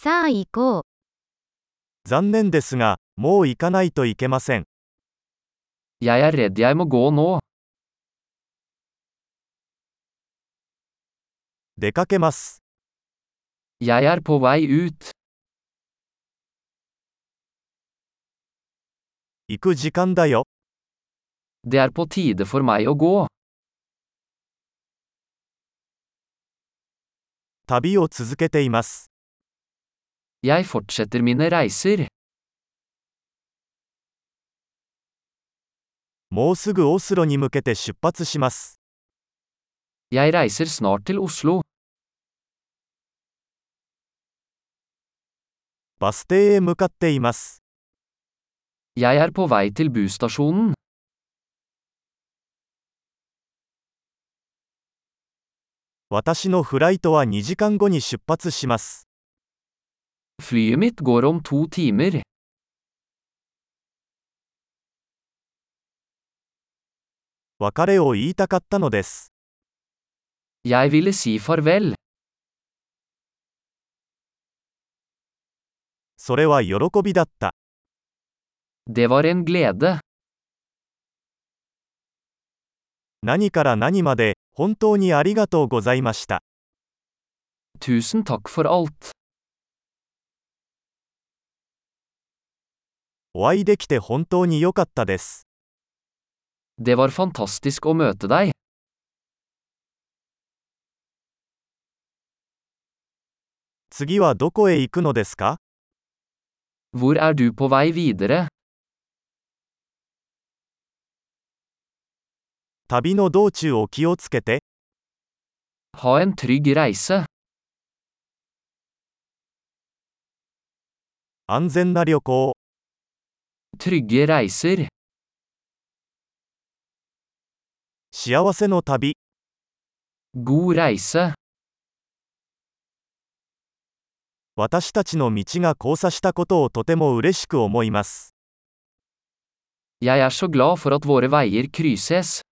さあ行こう。 残念ですが、もう行かないといけません。 Jeg er redd jeg må gå nå. 出かけます。 Jeg er på vei ut. 行く時間だよ。 Det er på tide for meg å gå. 旅を続けています。 Jeg fortsetter mine reiser. もうすぐオスロに向けて出発します。 Jeg reiser snart til Oslo. バス停へ向かっています。 Jeg er på vei til busstasjonen. 私のフライトは2時間後に出発します。 Flyet mitt går om 2 timer. 別れを言いたかったのです。 Jeg ville si farvel. それは喜びだった。 Det var en glede. 何から何まで、本当にありがとうございました。 Tusen takk for alt. お会いできて本当に良かったです。 Det var fantastisk å møte deg. 次はどこへ行くのですか？ Hvor er du på vei videre? 旅の道中を気をつけて。 Ha en trygg reise. 安全な旅行。 Trygge reiser. 幸せの旅。 God reise. 私たちの道が交差したことをとても嬉しく思います。 Jeg er så glad for at våre veier krysses.